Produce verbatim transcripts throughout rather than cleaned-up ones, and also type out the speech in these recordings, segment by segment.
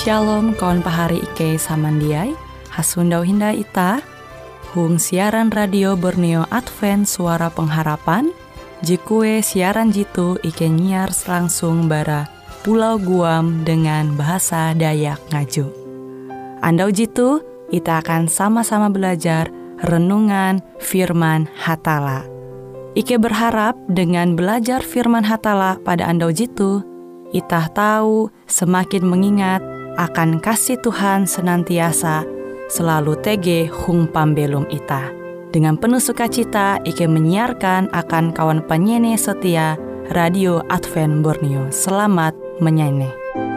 Shalom kawan pahari Ike samandiai, hasundau hinda ita, hung siaran radio Borneo Advent Suara Pengharapan, jikue siaran jitu Ike nyiar langsung bara Pulau Guam dengan bahasa Dayak Ngaju. Andau jitu, kita akan sama-sama belajar renungan firman Hatala. Ike berharap dengan belajar firman Hatala pada andau jitu, kita tahu semakin mengingat akan kasih Tuhan senantiasa selalu tege hung pambelum ita. Dengan penuh sukacita, Ike menyiarkan akan kawan penyanyi setia Radio Advent Borneo. Selamat menyanyi.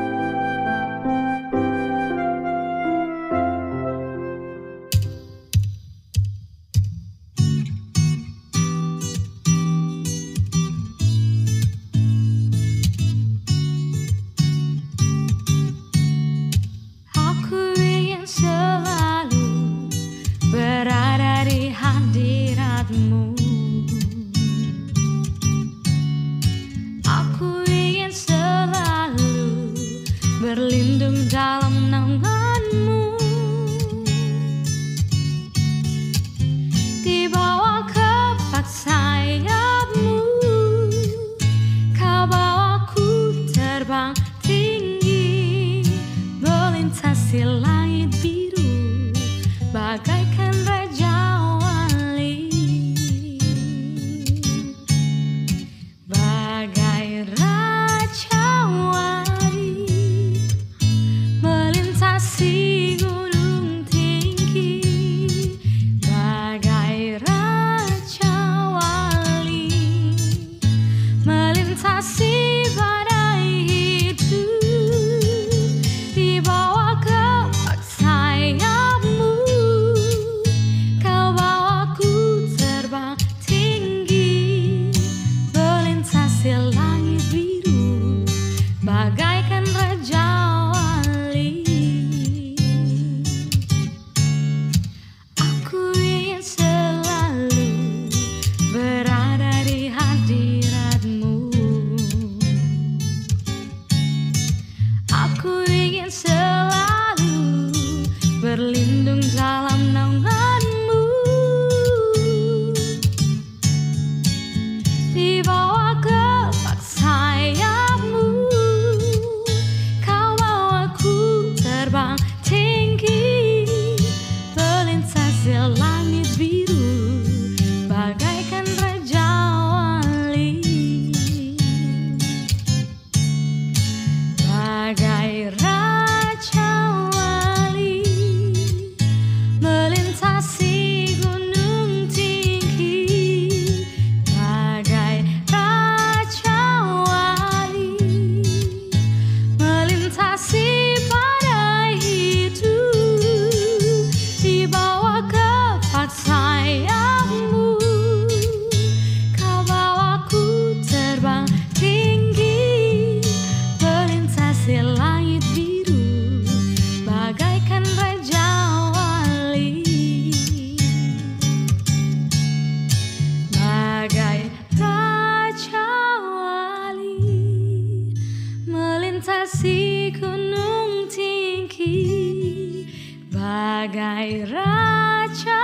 Bagai raja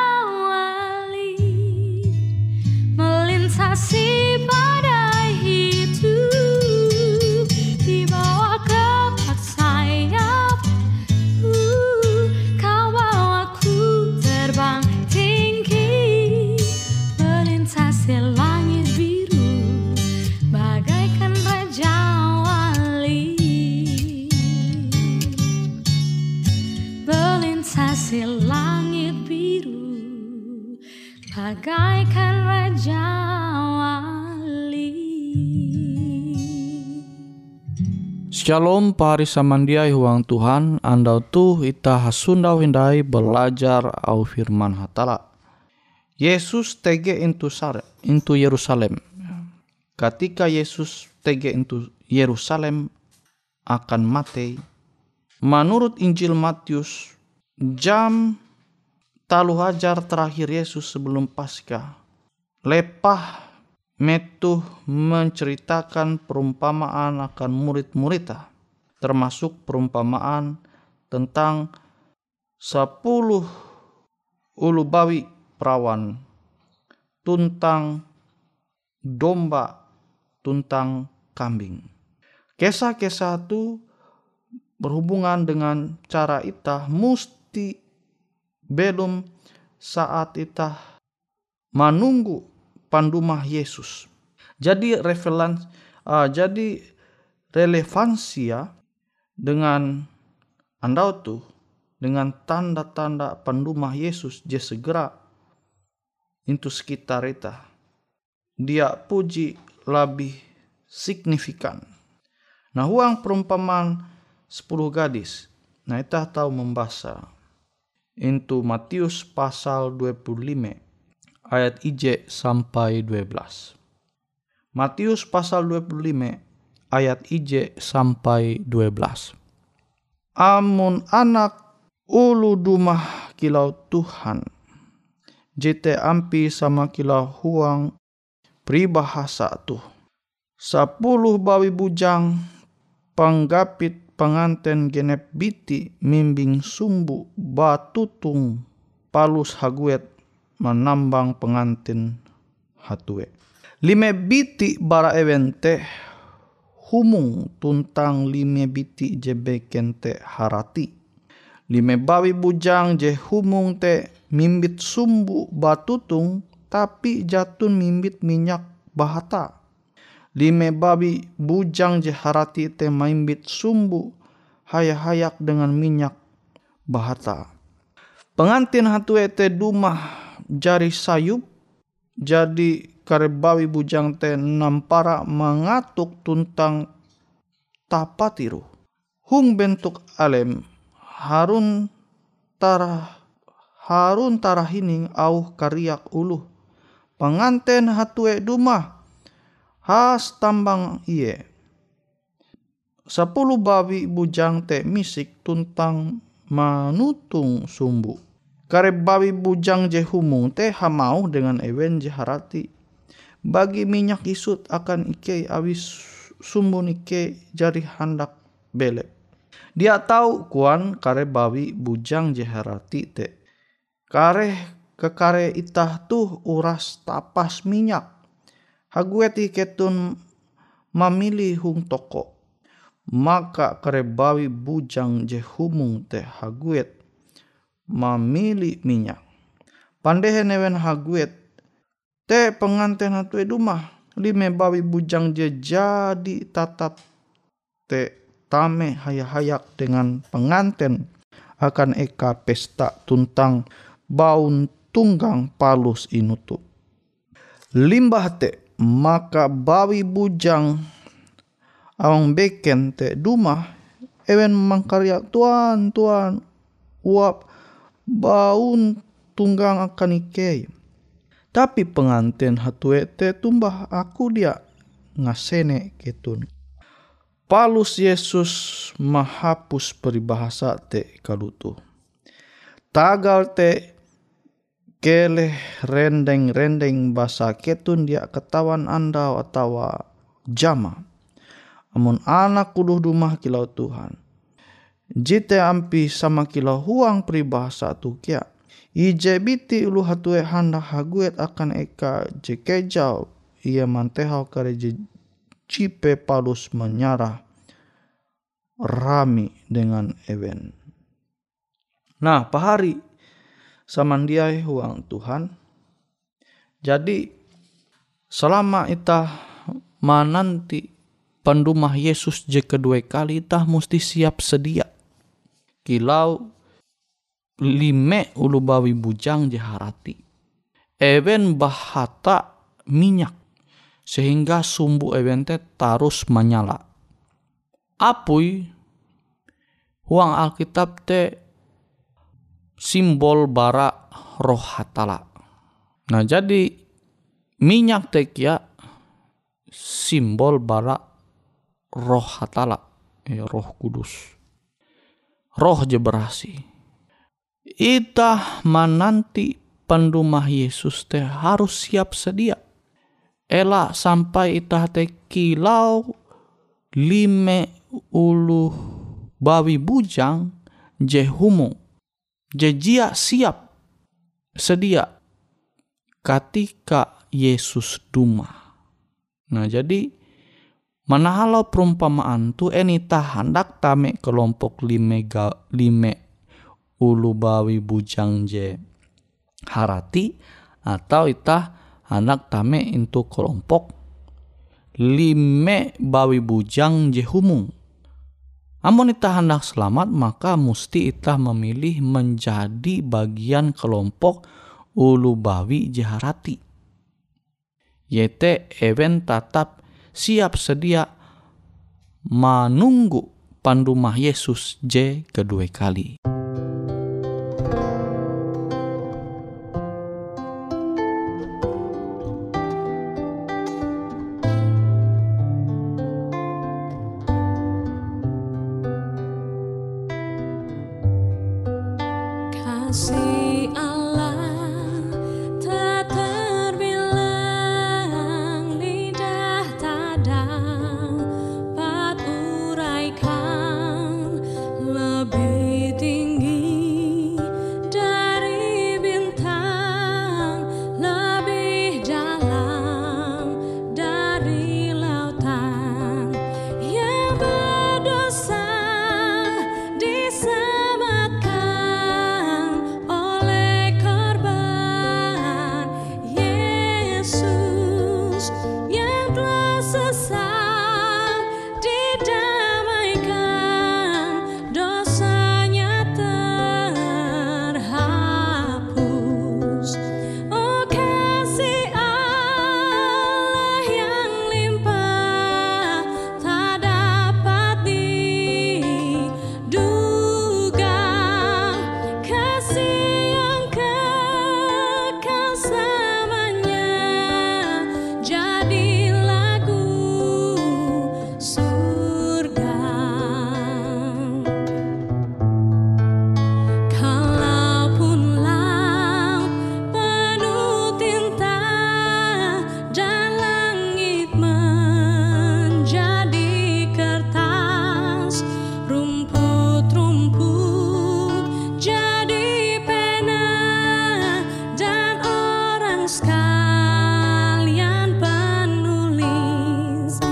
wali melintasi badai hidup di bawah kepak sayap-Mu, Kau bawaku terbang tinggi melintasi langit biru bagaikan raja wali. Melintasi langit biru bagaikan raja wali. Shalom pari samandiai huang Tuhan, andau tuh ita hasundau hindai belajar au firman Hatala. Yesus tege into sare, into Yerusalem. Ketika Yesus tege into Yerusalem akan mati, menurut Injil Matius, jam talu hajar terakhir Yesus sebelum Paskah, lepah metuh menceritakan perumpamaan akan murid-muridnya, termasuk perumpamaan tentang sepuluh ulu bawi perawan, tuntang domba, tuntang kambing. Kisah-kisah itu berhubungan dengan cara itah musti belum saat itah menunggu pandumah Yesus. Jadi relevansi, uh, jadi relevansia dengan andau tuh dengan tanda-tanda pandumah Yesus je segera itu sekitar itah. Dia puji lebih signifikan. Nah, huang perumpamaan sepuluh gadis. Nah, itah tahu membaca. Itu Matius pasal dua puluh lima ayat I J sampai dua belas. Matius pasal dua puluh lima ayat I J sampai dua belas. Amun anak ulu dumah kilau Tuhan, jete ampi sama kilau huang peribahasa tuh. Sepuluh bawi bujang panggapit penganten genep biti mimbing sumbu batutung palus haguet menambang pengantin hatue. Lime biti bara evente humung tuntang lime biti je beken te harati. Lime bawi bujang je humung te mimbit sumbu batutung tapi jatun mimbit minyak bahata. Lime babi bujang je harati te mimbit sumbu hayak-hayak dengan minyak bahata. Pengantin hatue te dumah jari sayup, jadi karebawi bujang te nampara mengatuk tuntang tapatiru. Hung bentuk alem harun tarah harun tarahining au kariak uluh. Penganten hatue dumah has tambang iye. Sepuluh babi bujang te misik tuntang manutung sumbu. Kare babi bujang je humung te hamau dengan ewen je harati. Bagi minyak isut akan ike awis sumbu nike jari handak belek. Dia tahu kuan kare babi bujang je harati te. Kare kekare itah tuh uras tapas minyak. Hagueti ketun mamili hung toko. Maka kare bawi bujang je humung te haguet mamili minyak. Pandehe newen haguet te penganten hatue dumah. Lime bawi bujang je jadi tatap te tame hayak-hayak dengan penganten akan eka pesta tuntang baun tunggang palus inutu. Limbah te maka bawi bujang awang beken te dumah ewen mangkarya tuan tuan uap baun tunggang akan ikei. Tapi pengantin hatue te tumbah aku dia ngasene ketun. Palus Yesus mahapus peribahasa te kalutu. Tagal te keleh rendeng-rendeng basa ketun dia ketawan anda atawa jama. Amun anak kuluh dumah kilau Tuhan. Jite ampi sama kilau huang peribahasa tu kia. Ije biti ulu hatue handa haguet akan eka jekejau. Ia mantehau kare cipe palus menyarah rami dengan ewen. Nah pahari samandiai huang Tuhan. Jadi selama ita mananti pandumah Yesus je kedua kali itah mesti siap sedia. Kilau lime ulu bawi bujang je harati. Ewen bahata minyak. Sehingga sumbu ewen te tarus menyala. Apui huang Alkitab te simbol bara roh hatala. Nah jadi minyak te kia simbol bara roh hatala, ya, roh kudus, roh je berasi. Itah menanti pendumah Yesus teh harus siap sedia. Ela sampai itah teh kilau lime ulu bawi bujang je humung, je jia siap sedia ketika Yesus duma. Nah jadi manahalau perumpamaan tu enita hendak tame kelompok lime, ga, lime ulu bawi bujang je harati, atau itah hendak tame into kelompok lime bawi bujang je humung. Amun itah hendak selamat, maka musti itah memilih menjadi bagian kelompok ulu bawi je harati. Yete ewen tatap siap sedia menunggu pandumah Yesus je kedua kali. Kasih Allah tak terbilang, lidah tak dapat uraikan, lebih tinggi dari bintang, lebih dalam dari lautan. Yang berdosa diselamatkan oleh korban Yesus, yang telah sesat didamaikan, dosanya terhapus. Oh kasih Allah yang limpah tak dapat diduga, kasih yang kekal selamanya, jadi lagu surga. Kalaupun laut penuh tinta dan langit menjadi kertas, rumput-rumput jadi pena, dan orang sekalian penulis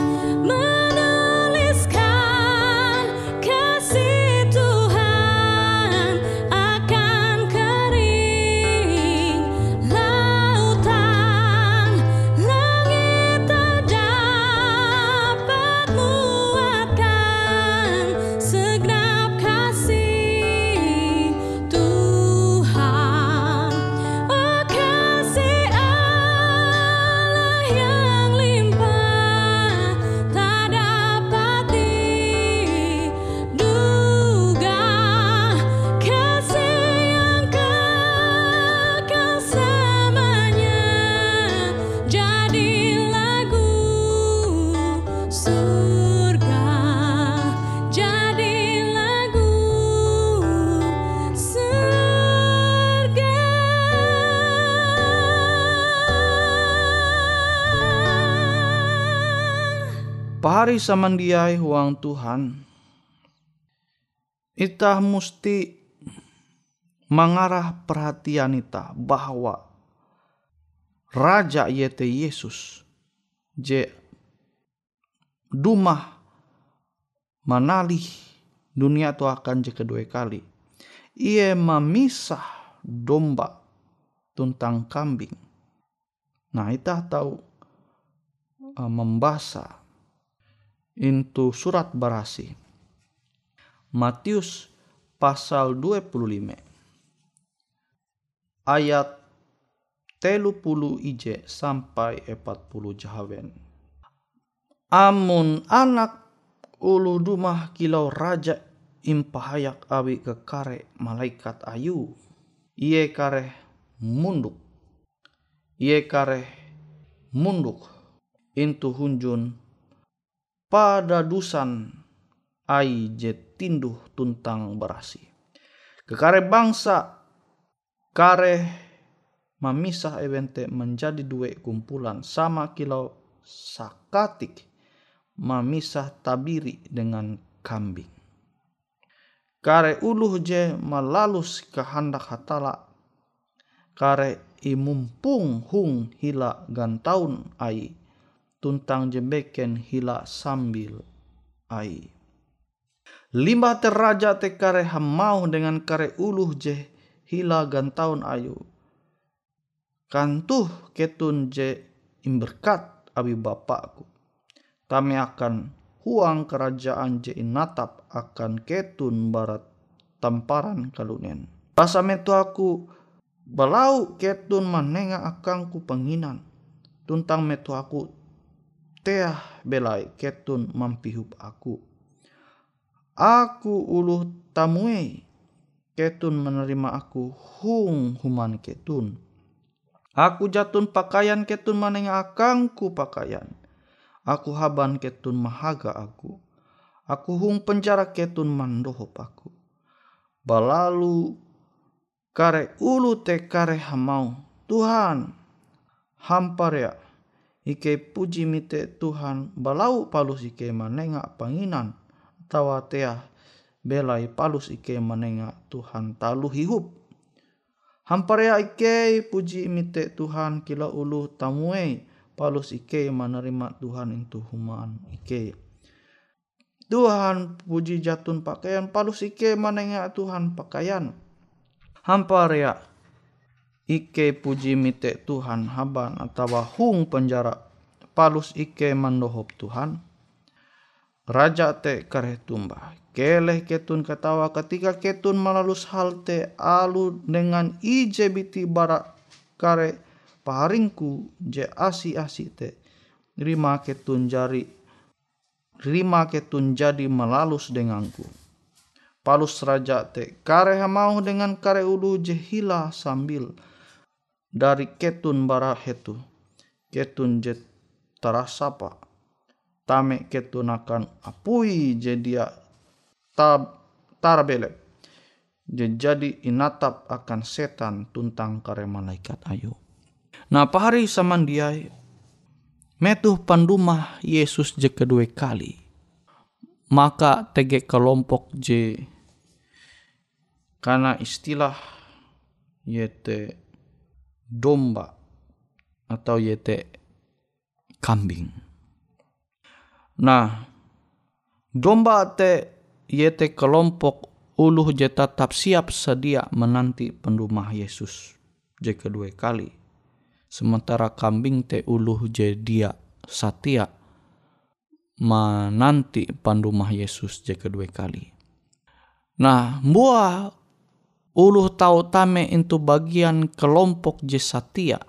menuliskan kasih Tuhan, akan kering lautan, langit tak dapat muatkan segenap kasih Tuhan. Oh kasih Allah yang limpah tak dapat diduga, kasih yang kekal selamanya, jadi lagu surga, jadi lagu surga. Pahari samandiai huang Tuhan, itah musti mengarah perhatian itah bahwa Raja yete Yesus je dumah manalih dunia tu akan je kedua kali. Ia memisah domba tuntang kambing. Nah itah tahu uh, membaca into surat Barasi Matius pasal dua puluh lima ayat telu puluh ije sampai empat puluh jahawen. Amun anak ulu dumah kilau raja impahayak awi ke kare malaikat ayu, iye kare munduk, iye kare munduk intu hunjun pada dusan ai je tinduh tuntang Barasi. Kekare bangsa kare memisah evente menjadi dua kumpulan, sama kilau sakatik memisah tabiri dengan kambing. kare uluh je malalus kehendak hatala, kare imumpung hung hila gantaun ai, tuntang je beken hila sambil ai. Limbah teraja te kare hamau dengan kare uluh je hila gantaun ayu, kantuh ketun je imberkat abi bapakku, tame akan huang kerajaan je inatap akan ketun barat tamparan kalunen. Basa metu aku balau ketun manenga akangku penginan, tuntang metu aku teah belai ketun mampihup aku. Aku uluh tamuei, ketun menerima aku hung human ketun. Aku jatun pakaian ketun manenga akangku pakaian. Aku haban ketun mahaga aku. Aku hung penjara ketun mandohop aku. Balalu kare ulu te kare hamau, Tuhan hamparea ike puji mite Tuhan balau palus ike manenga panginan, tawa teah belai palus ike manenga Tuhan talu hihup. Hamparea ike puji mite Tuhan kila ulu tamuei, palus ike menerima Tuhan itu human ike. Tuhan puji jatun pakaian, palus ike manenga Tuhan pakaian. Hamparea ike puji mite Tuhan haban atawa hung penjara, palus ike mandohop Tuhan. Raja te kare tumba, keleh ketun katawa ketika ketun malalus hal te alu dengan ije biti bara kare paharingku je asi-asi te. Rima ketun jari, rima ketun jadi malalus denganku. Palus raja te kare hamau dengan kare ulu je hila sambil dari ketun bara hetu. Ketun je tarasapa. Tame ketun akan apui je dia tab tarbelek. Je jadi inatap akan setan tuntang kare malaikat ayu. Nah pahari samandiai metuh pandumah Yesus je kedua kali. Maka tege kelompok je karena istilah yete domba atau yete kambing. Nah, domba te yete kelompok uluh je tetap siap sedia menanti pendumah Yesus je kedua kali. Sementara kambing te uluh je dia satia menanti pendumah Yesus je kedua kali. Nah, buah uluh tau tame itu bagian kelompok je satia.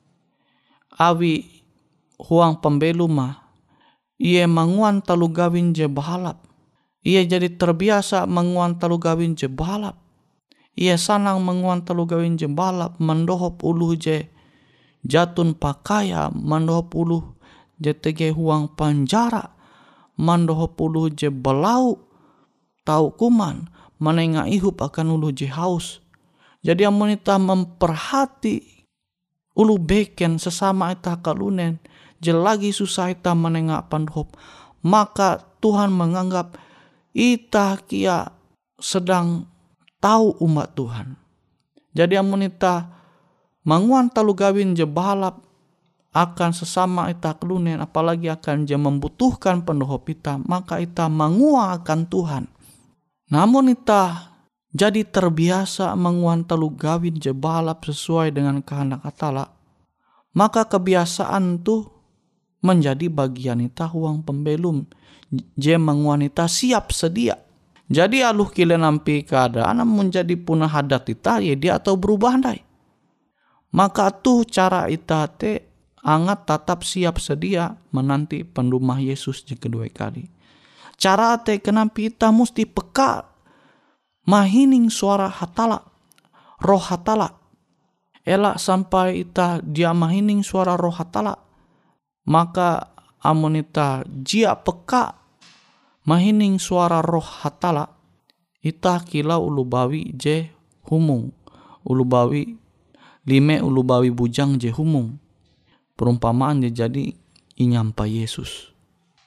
Awi huang pembelu mah ia manguan talu gawin je bahalap. Ia jadi terbiasa manguan talu gawin je bahalap. Ia sanang manguan talu gawin je bahalap, mandohop uluh je jatun pakaya, mandohop uluh je tege huang penjara, mandohop uluh je belau tau kuman, manenga ihup akan uluh je haus. Jadi amunita memperhati ulu beken sesama ita kalunen, je lagi susah ita menengak pandohop, maka Tuhan menganggap ita kia sedang tahu umat Tuhan. Jadi amunita manguan talu gawin je bahalap akan sesama ita kalunen, apalagi akan je membutuhkan pandohop ita, maka ita mangua akan Tuhan. Namun ita jadi terbiasa manguan talu gawin je bahalap sesuai dengan kehendak Hatala, maka kebiasaan tuh menjadi bagian ita huang pembelum je menguanita siap sedia. Jadi aluh kile nampi keadaan menjadi punah hadat ita ya dia atau berubah ndai. Maka tuh cara ita te angat tetap siap sedia menanti pendumah Yesus je kedua kali. Cara te kenampi ita mesti peka mahining suara Hatala, roh Hatala. Elak sampai ita dia mahining suara roh Hatala, maka amunita jia peka mahining suara roh Hatala, ita kila ulubawi je humung, ulubawi lime ulubawi bujang je humung. Perumpamaan je jadi inyampa Yesus.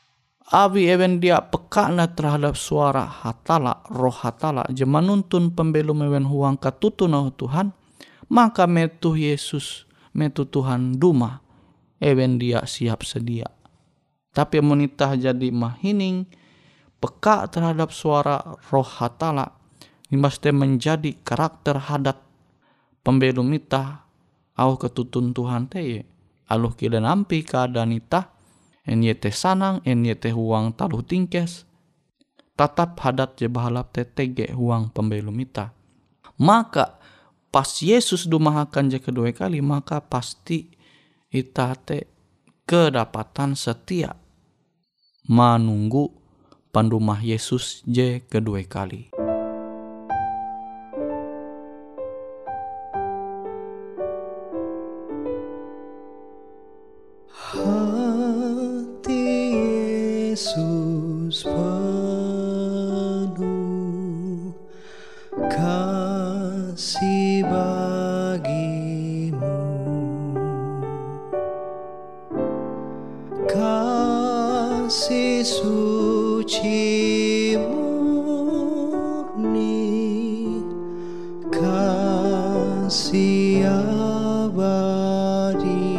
Abi ewen dia peka na terhadap suara hatala, roh hatala, je manuntun pembelum ewen huang katutu na Tuhan, maka metu Yesus, metu Tuhan duma, ewen dia siap sedia. Tapi monita jadi mahining, peka terhadap suara roh hatala, imbaste menjadi karakter hadat pembelum ita, au ketutun Tuhan teye, aluh kida nampi keadaan ita, en yete sanang, en yete huang taluh tingkes, tatap hadat je bahalap te tege huang pembelum ita. Maka pas Yesus dumahakan je kedua kali, maka pasti ita te kedapatan setia menunggu pandumah Yesus je kedua kali. Yesus penuh kasih bagimu, kasih suci murni, kasih abadi.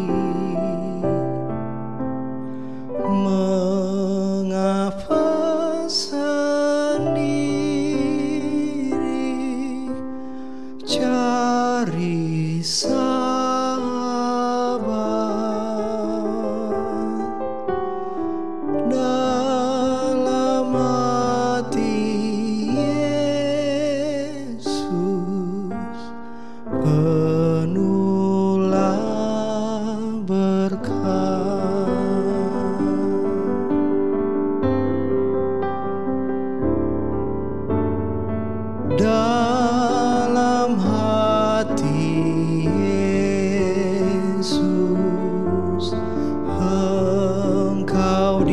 Dalam hati Yesus Engkau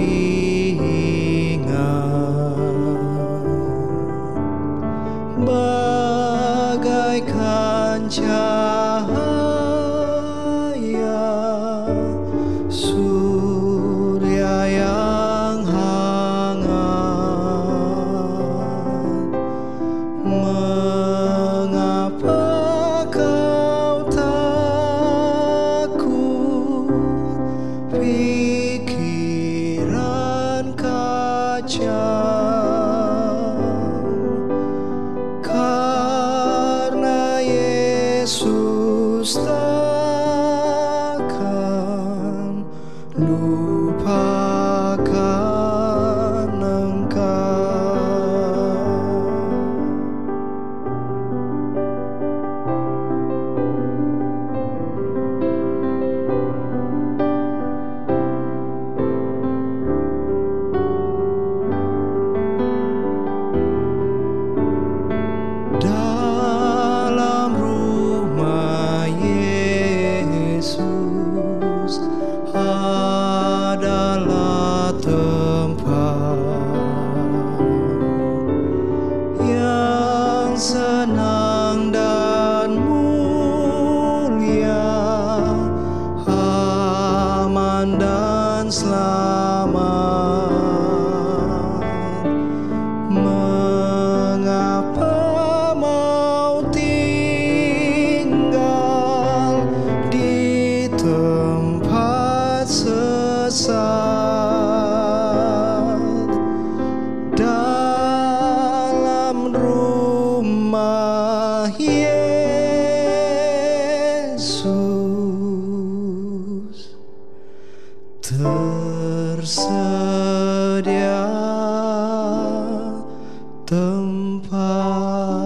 diingat, bagaikan cahaya surya yang mengapa kau takut, pikiran kacau, karena Yesus takkan lupakan engkau. Dalam rumah Yesus adalah tempat yang senang dan mulia, aman dan selamat. Mengapa mau tinggal di tempat sesat, dalam rumah Yesus tersedia tempat.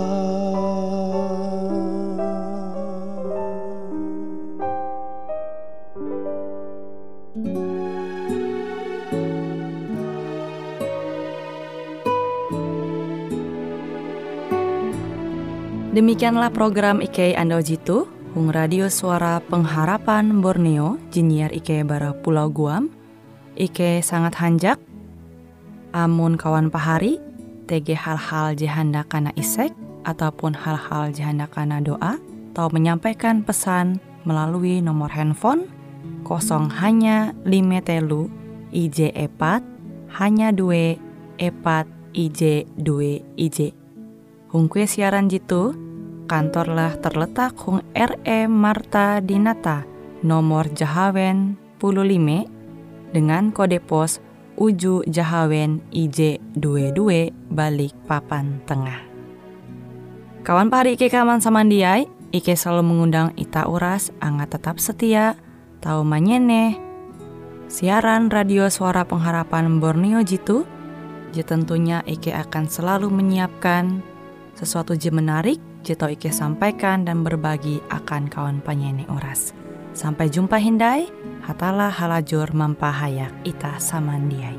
Demikianlah program I K Ando Jitu, Hung Radio Suara Pengharapan Borneo, Jinnyar I K Bara Pulau Guam. I K sangat hanjak, amun kawan pahari, T G hal-hal jihanda kana isek, ataupun hal-hal jihanda kana doa, atau menyampaikan pesan melalui nomor handphone kosong hanya lima telu I J epat, hanya dua, epat, I J dua I J. Hung kue siaran jitu, kantorlah terletak hung R E Marta Dinata, nomor Jahawen puluh lima, dengan kode pos Uju Jahawen I J dua dua balik papan tengah. Kawan pahari Ike kaman samandiai, Ike selalu mengundang ita uras, angga tetap setia, tahu manyene. Siaran radio suara pengharapan Borneo jitu, je tentunya Ike akan selalu menyiapkan sesuatu je menarik, je tau Ike sampaikan dan berbagi akan kawan penyanyi oras. Sampai jumpa hindai, hatalah halajur mampahayak ita samandiai.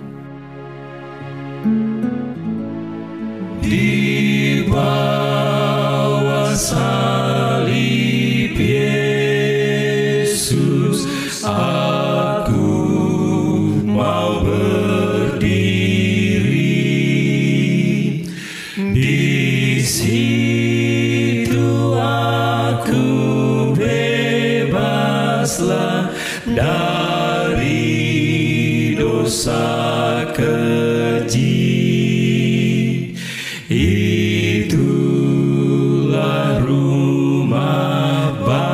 Di bawah salib Yesus, aku mau berdiri. Di situ aku bebaslah dari dosa keji. Itulah rumah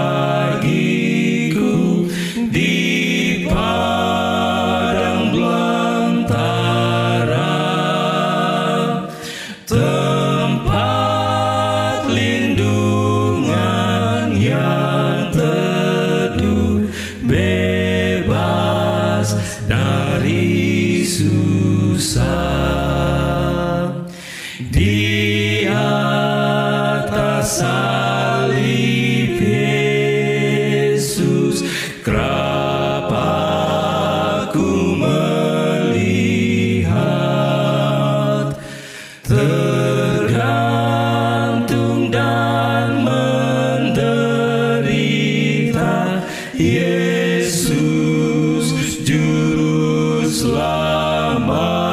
bagiku di padang belantara, tempat lindungan yang teduh, bebas dari susah. Di atas salib Yesus, kerap aku melihat, tergantung dan menderita Yesus Juru Selamat.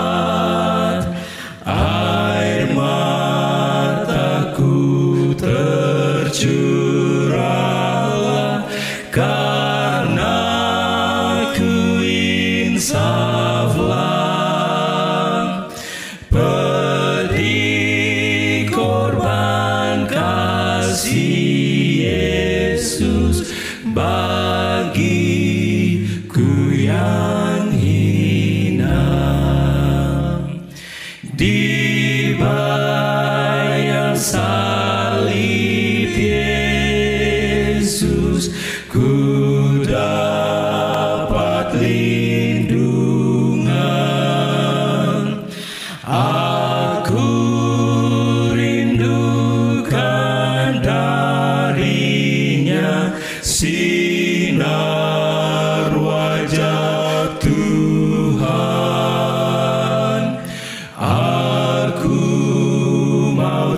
Tercurahlah karena ku insaflah, pedih korban kasih Yesus bagiku yang hina. Di bayang salib Yesus, ku dapat lindungan. Aku rindukan darinya sinar wajah Tuhan. Aku mau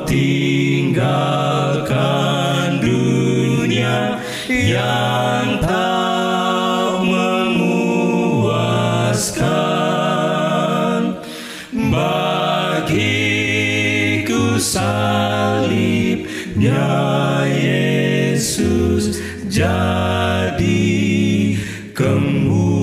tinggalkan dunia yang tak memuaskan. Bagiku salibnya Yesus jadi kemuliaan.